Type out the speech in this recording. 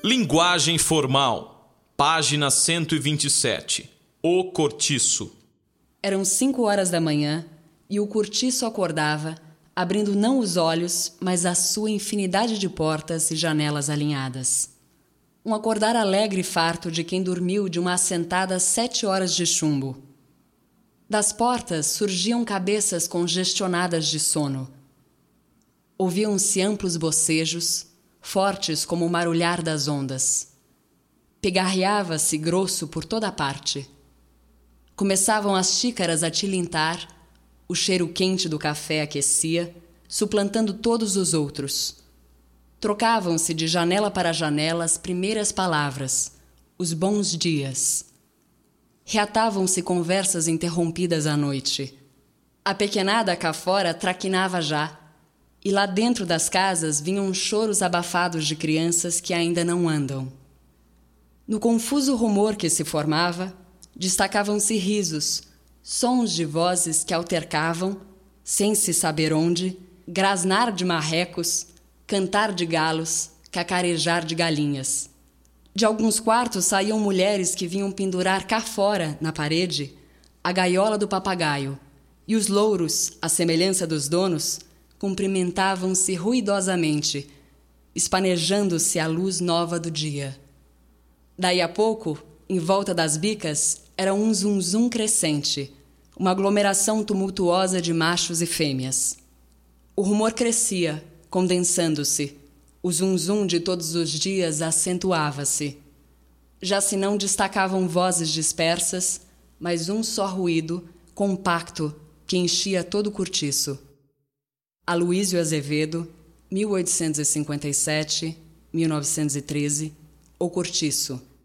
Linguagem formal. Página 127. O cortiço. Eram 5 horas da manhã e o cortiço acordava, abrindo não os olhos, mas a sua infinidade de portas e janelas alinhadas. Um acordar alegre e farto de quem dormiu de uma assentada 7 horas de chumbo. Das portas surgiam cabeças congestionadas de sono. Ouviam-se amplos bocejos, fortes como o marulhar das ondas. Pigarreava-se grosso por toda a parte. Começavam as xícaras a tilintar, o cheiro quente do café aquecia, suplantando todos os outros. Trocavam-se de janela para janela as primeiras palavras, os bons dias. Reatavam-se conversas interrompidas à noite. A pequenada cá fora traquinava já, e lá dentro das casas vinham choros abafados de crianças que ainda não andam. No confuso rumor que se formava, destacavam-se risos, sons de vozes que altercavam, sem se saber onde, grasnar de marrecos, cantar de galos, cacarejar de galinhas. De alguns quartos saíam mulheres que vinham pendurar cá fora, na parede, a gaiola do papagaio, e os louros, à semelhança dos donos, cumprimentavam-se ruidosamente, espanejando-se à luz nova do dia. Daí a pouco, em volta das bicas, era um zum-zum crescente, uma aglomeração tumultuosa de machos e fêmeas. O rumor crescia, condensando-se. O zum-zum de todos os dias acentuava-se. Já se não destacavam vozes dispersas, mas um só ruído, compacto, que enchia todo o cortiço. Aloísio Azevedo, 1857-1913, O Cortiço.